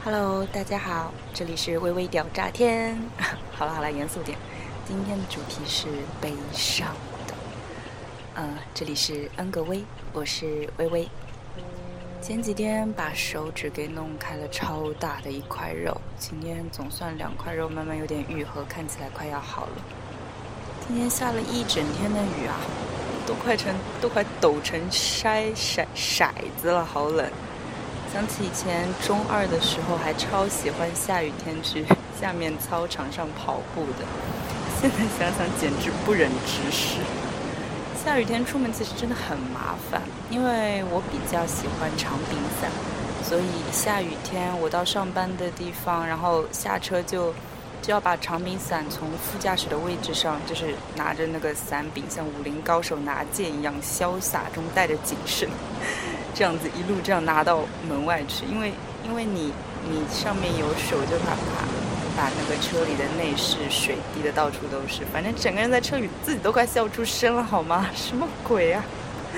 Hello，大家好，这里是微微屌炸天。好了，严肃点。今天的主题是悲伤的。这里是恩格威，我是微微。前几天把手指给弄开了超大的一块肉，今天总算2块肉慢慢有点愈合，看起来快要好了。今天下了一整天的雨啊，都快抖成筛子了，好冷。想起以前中2的时候还超喜欢下雨天去下面操场上跑步的，现在想想简直不忍直视。下雨天出门其实真的很麻烦，因为我比较喜欢长柄伞，所以下雨天我到上班的地方，然后下车就要把长柄伞从副驾驶的位置上，就是拿着那个伞柄，像武林高手拿剑一样潇洒中带着谨慎，这样子一路这样拿到门外去。因为你上面有手，就怕把那个车里的内饰水滴的到处都是，反正整个人在车里自己都快笑出声了，好吗？什么鬼啊！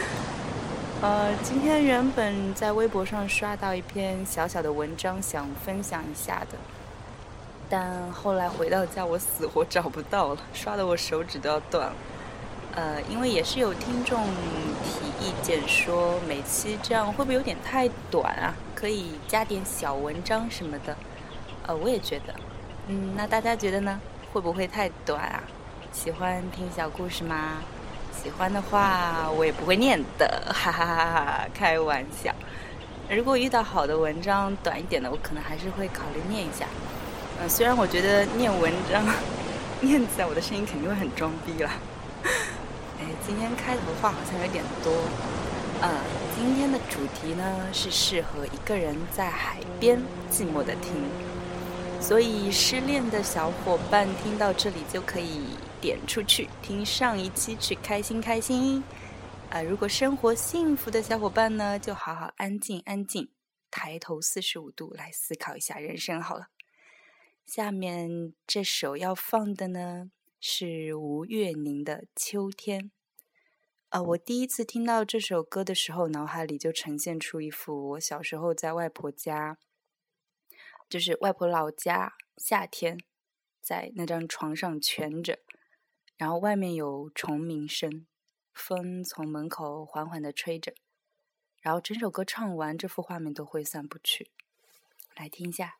今天原本在微博上刷到一篇小小的文章，想分享一下的，但后来回到家我死活找不到了，刷得我手指都要断了。因为也是有听众提意见说每期这样会不会有点太短啊，可以加点小文章什么的。我也觉得那大家觉得呢？会不会太短啊？喜欢听小故事吗？喜欢的话我也不会念的，哈哈哈哈，开玩笑。如果遇到好的文章短一点的，我可能还是会考虑念一下。虽然我觉得念文章念起来我的声音肯定会很装逼啦。今天开头话好像有点多。今天的主题呢是适合一个人在海边寂寞的听，所以失恋的小伙伴听到这里就可以点出去听上一期去开心开心。如果生活幸福的小伙伴呢，就好好安静抬头45度来思考一下人生好了。下面这首要放的呢是吴月宁的秋天。我第一次听到这首歌的时候，脑海里就呈现出一幅我小时候在外婆家，就是外婆老家，夏天在那张床上蜷着，然后外面有虫鸣声，风从门口缓缓地吹着，然后整首歌唱完，这幅画面都挥散不去。来听一下。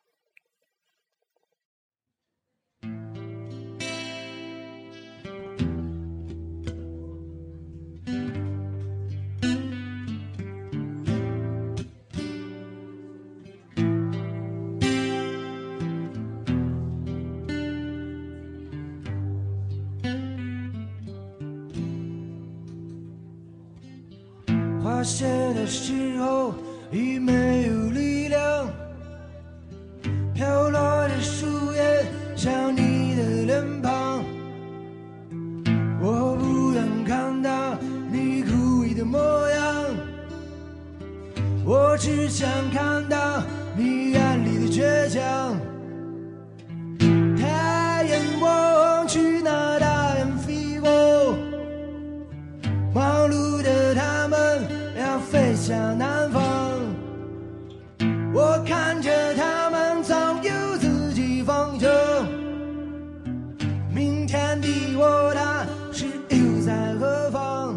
发现的时候已没有力量，飘落的树叶像你的脸庞，我不愿看到你枯萎的模样，我只想看到你眼里的倔强。太阳望去那大雁飞过，忙碌的他们要飞向南方，我看着他们早有自己方向，明天的我他是又在何方？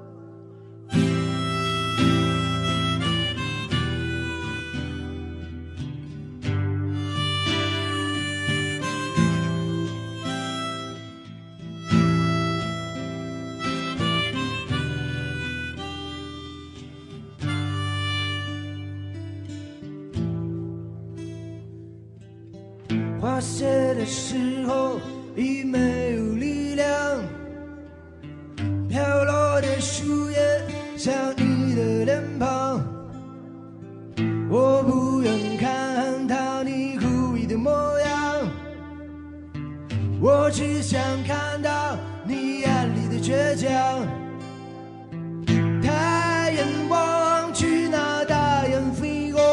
花谢的时候已没有力量，飘落的树叶像你的脸庞，我不愿看到你枯萎的模样，我只想看到你眼里的倔强。太阳望去那大雁飞过，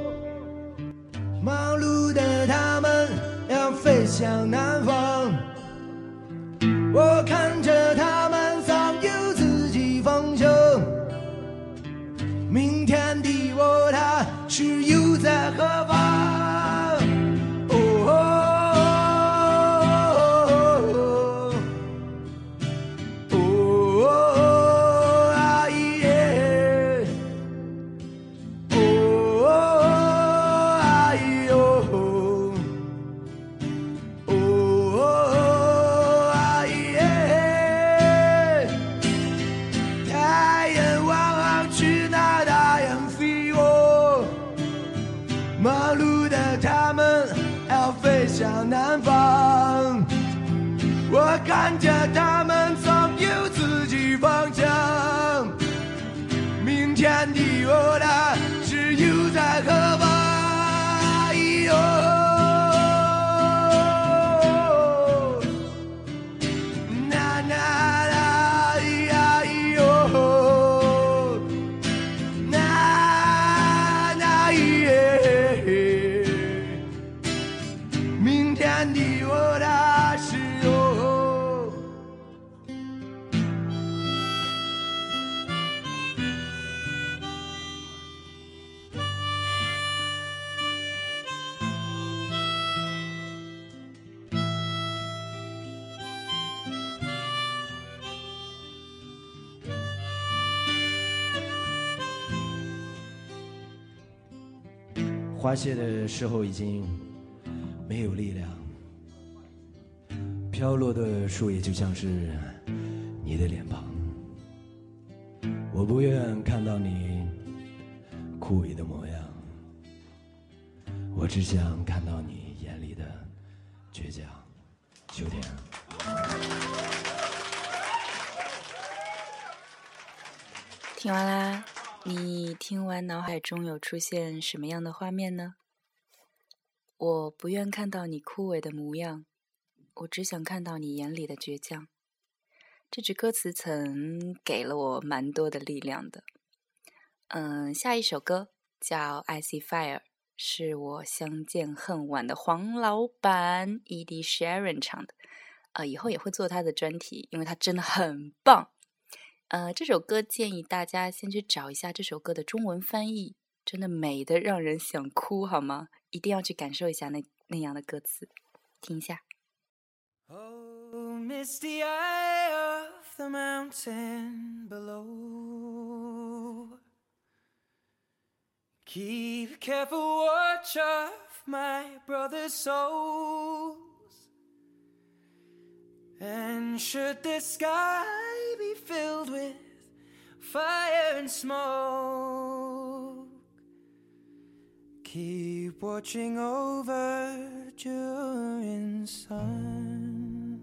忙碌的他们要飞向南方，我看着他们早有自己方向，明天的我他是又在何方？ 花谢的时候已经没有力量，飘落的树叶就像是你的脸庞。我不愿看到你枯萎的模样，我只想看到你眼里的倔强。秋天， 听完啦，你听完脑海中有出现什么样的画面呢？我不愿看到你枯萎的模样，我只想看到你眼里的倔强。这句歌词曾给了我蛮多的力量的。下一首歌叫 I See Fire， 是我相见恨晚的黄老板 Ed Sheeran 唱的。以后也会做他的专题，因为他真的很棒。这首歌建议大家先去找一下这首歌的中文翻译，真的美得让人想哭，好吗？一定要去感受一下那样的歌词，听一下。 Oh, misty eye of the mountain below, keep careful watch of my brother's souls, and should the sky be filled with fire and smoke, keep watching over during suns.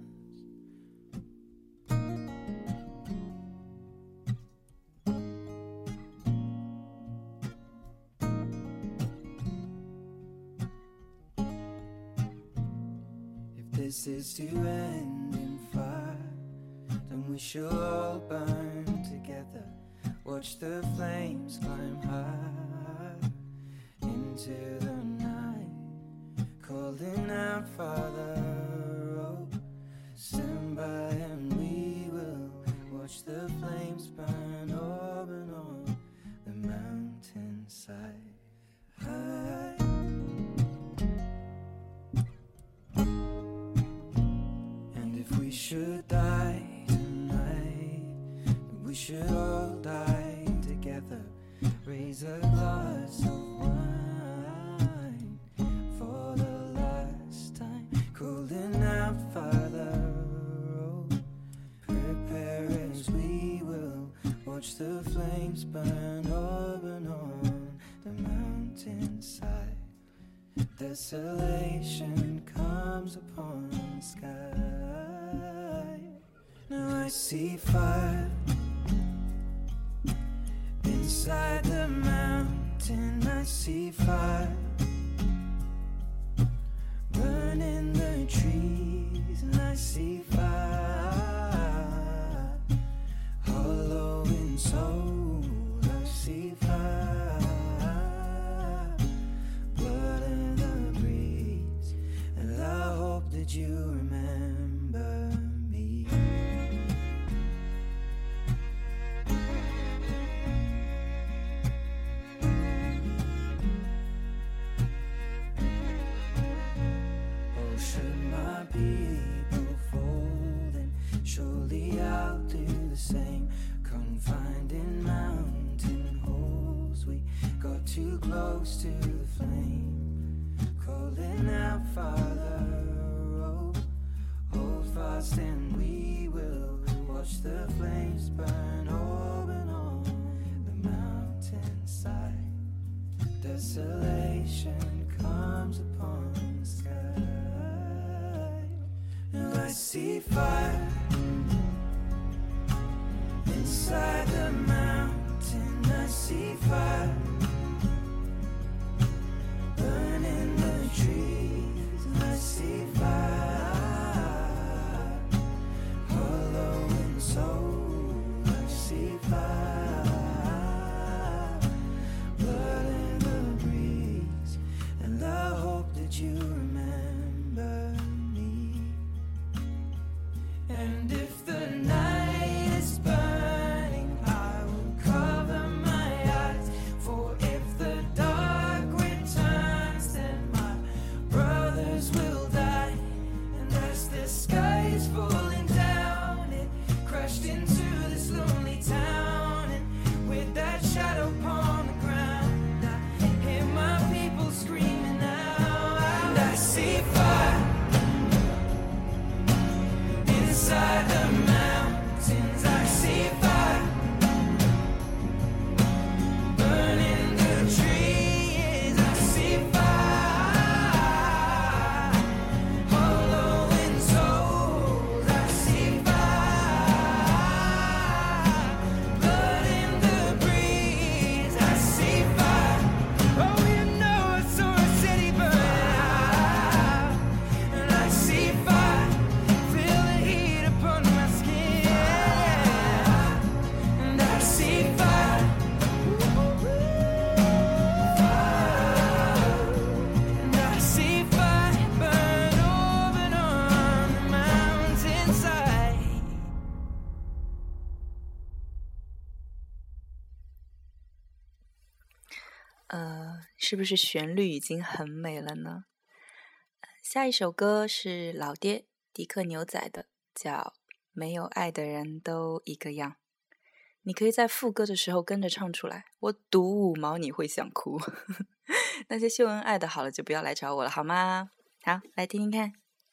If this is to end in fire, then we shall all burn together. Watch the flames climb high into the night, calling out, Father, oh, stand by and we will watch the flames burn open on the mountainside. And if we should die tonight, we should all die together. Raise a glass of wine for the last time, calling out, Father, oh, prepare as we will watch the flames burn open on the mountainside. Desolation comes upon the sky. Now I see fire inside the mountain. I see fire burning the trees, and I see fire hollow in soul. I see fire, blood in the breeze, and I hope that you remember me. Should my people fall, then surely I'll do the same. Confined in mountain holes, we got too close to the flame, calling out, Father, oh, hold fast and we will watch the flames burn open on the mountainside. Desolation comes upon the sky. Now I see fire inside the mountain. I see fire burning the trees. I see fire hollow in soul. I see fire, blood in the breeze, and I hope that you remember me. And if the night is burning, I will cover my eyes, for 是不是旋律已经很美了呢？下一首歌是老爹迪克牛仔的，叫《没有爱的人都一个样》。你可以在副歌的时候跟着唱出来，我赌5毛你会想哭。那些秀恩爱的好了就不要来找我了好吗？好，来听听看。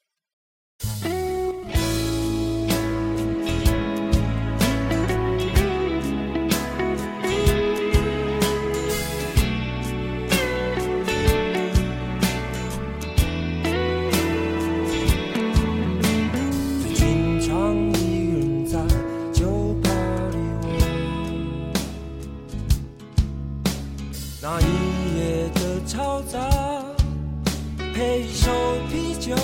那一夜的嘈杂，配一手啤酒，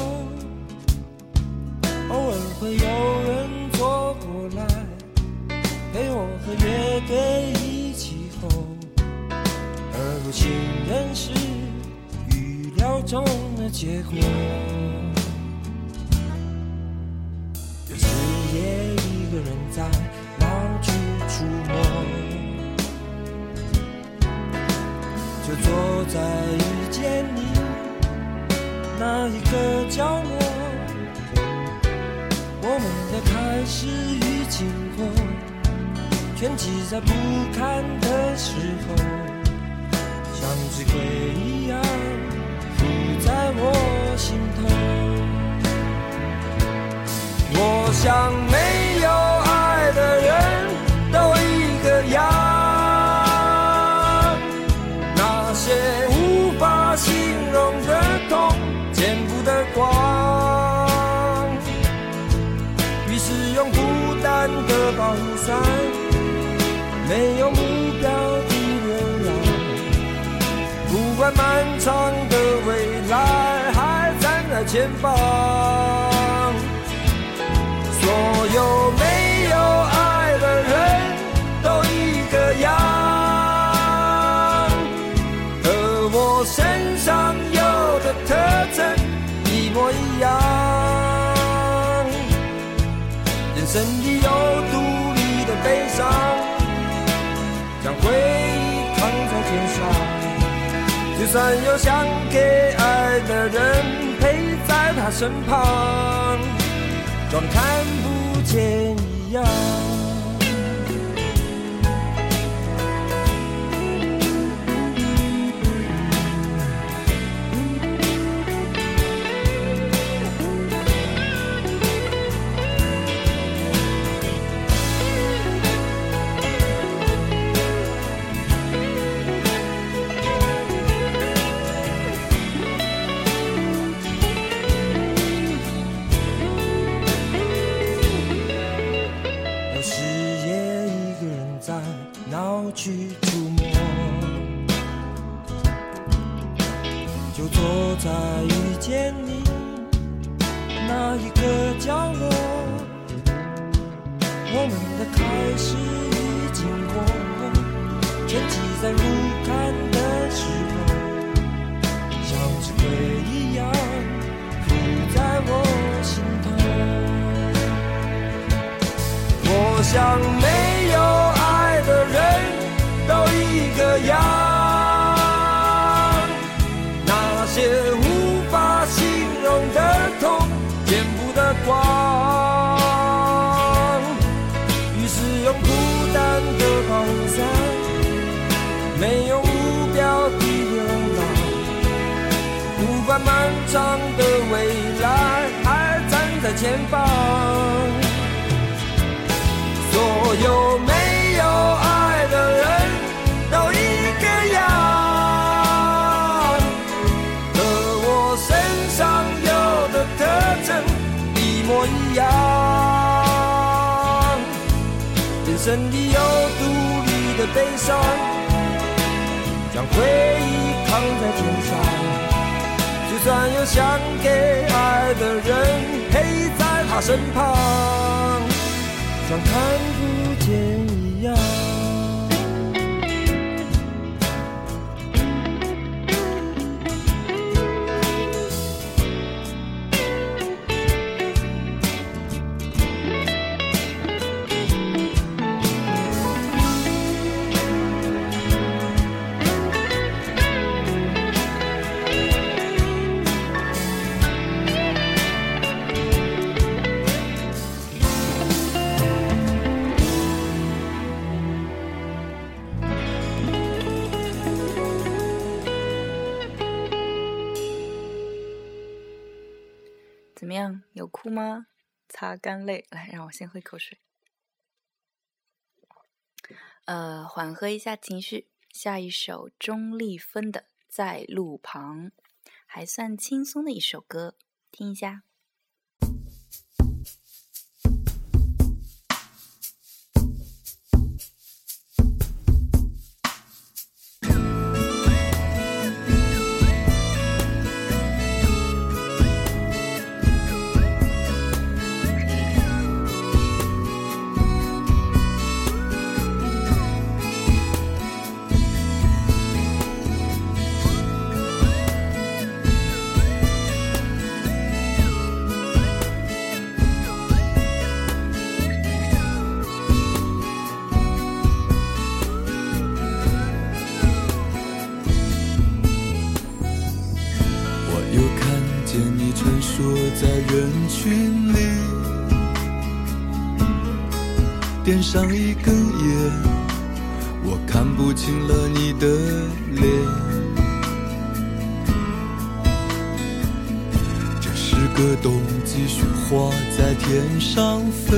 偶尔会有人坐过来，陪我和乐队一起吼，而不情愿是预料中的结果。有时也一个人在闹区出没，就坐在遇见你那一个角落，我们的开始与经过全记在不堪的时候，像只鬼一样附在我心头。我想没有爱的人都一个样，无法形容的痛，见不得光。于是用孤单的保护伞，没有目标的流浪。不管漫长的未来还站在前方，所有没有爱的人都一个样。身上有的特征一模一样，人生里有独立的悲伤，将回忆扛在肩上，就算有想给爱的人陪在他身旁，装看不见一样。去触摸，就坐在遇见你那一个角落，我们的开始与经过全记在如看的时候，像只鬼一样附在我心头。我想没有爱的人都一个样，那些无法形容的痛，见不得光。于是用孤单的保护伞，没有目标的流浪。不管漫长的未来还站在前方，所有没有爱的人都一个样，和我身上有的特征一模一样。人生里有独立的悲伤，将回忆扛在肩上，就算有想给爱的人陪在他身旁，像看不见一样。 怎么样？有哭吗？擦干泪，来，让我先喝一口水。缓和一下情绪，下一首钟立风的《在路旁》，还算轻松的一首歌，听一下。 在人群里点上一根烟，我看不清了你的脸。这是个冬季雪花在天上飞，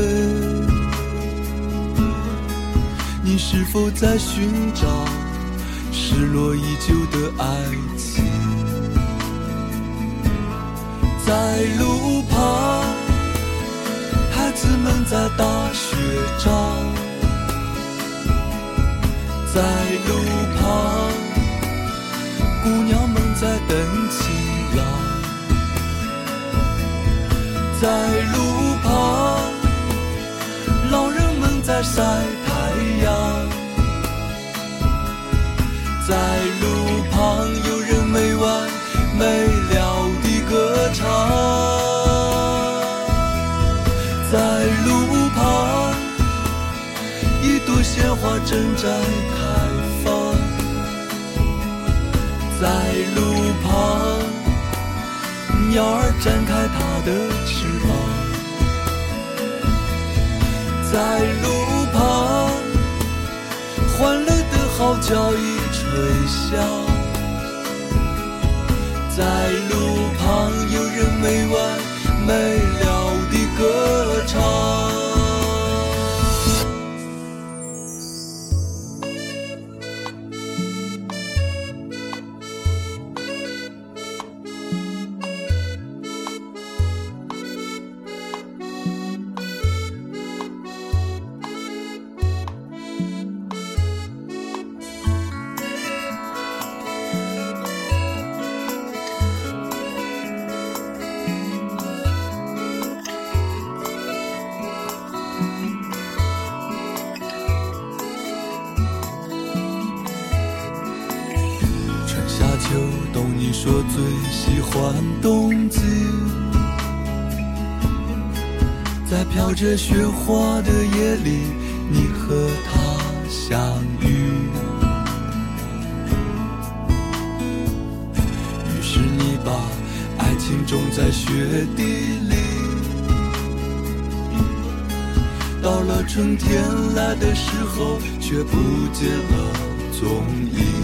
你是否在寻找失落已久的爱情？在路旁，孩子们在打雪仗。在路旁，姑娘们在等情郎。在路旁，老人们在晒太阳。在路旁，有人没完没了地歌唱。在路旁，一朵鲜花正在开放。在路旁，鸟儿展开它的翅膀。在路旁，欢乐的号角已吹响。在路旁，有人没完没了地歌唱。秋冬，你说最喜欢冬季，在飘着雪花的夜里，你和他相遇。于是你把爱情种在雪地里，到了春天来的时候，却不见了踪影。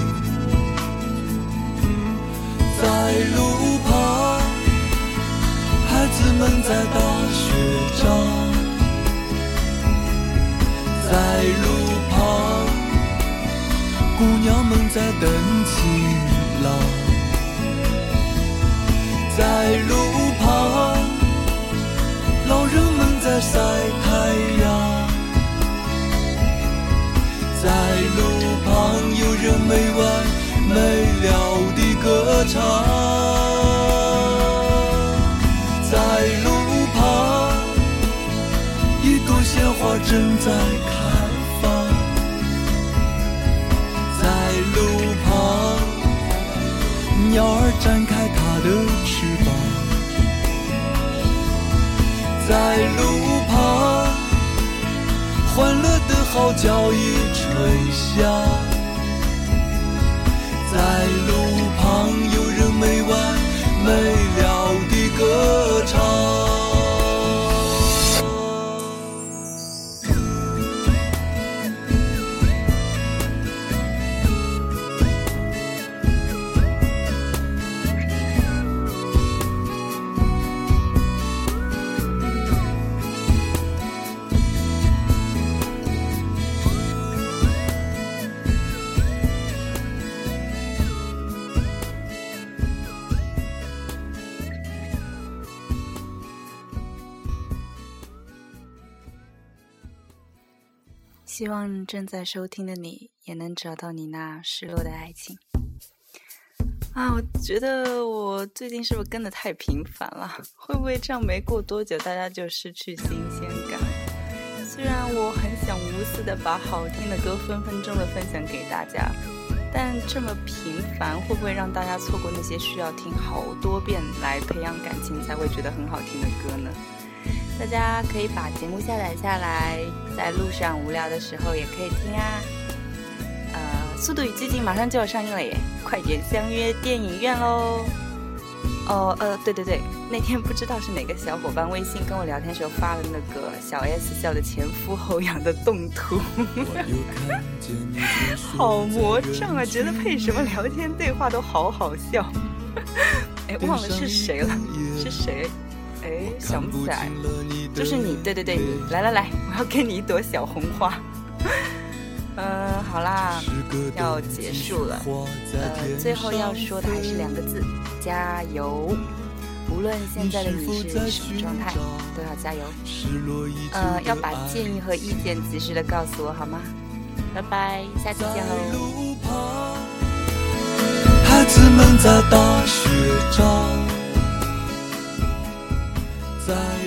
在路旁，孩子们在打雪仗。在路旁，姑娘们在等情郎。在路旁，老人们在晒太阳。在路旁，有人没完没了地歌唱。在路旁，一朵鲜花正在开放。在路旁，鸟儿展开它的翅膀。在路旁，欢乐的号角已吹响。在路旁，有人没完没了地歌唱。 希望正在收听的你也能找到你那失落的爱情。我觉得我最近是不是跟得太频繁了？会不会这样没过多久大家就失去新鲜感？虽然我很想无私的把好听的歌分分钟的分享给大家，但这么频繁会不会让大家错过那些需要听好多遍来培养感情才会觉得很好听的歌呢？大家可以把节目下载下来，在路上无聊的时候也可以听啊。速度与激情马上就要上映了耶，快点相约电影院咯。对，那天不知道是哪个小伙伴微信跟我聊天时候发了那个小 S 笑的前俯后仰的动图好魔障啊，觉得配什么聊天对话都好好笑忘了是谁了，是谁？想不起来，就是你，对，你来，我要给你一朵小红花好啦，要结束了。最后要说的还是2个字，加油！无论现在的你是什么状态，都要加油。要把建议和意见及时的告诉我好吗？拜拜，下期见喽！ 孩子们在打雪仗，在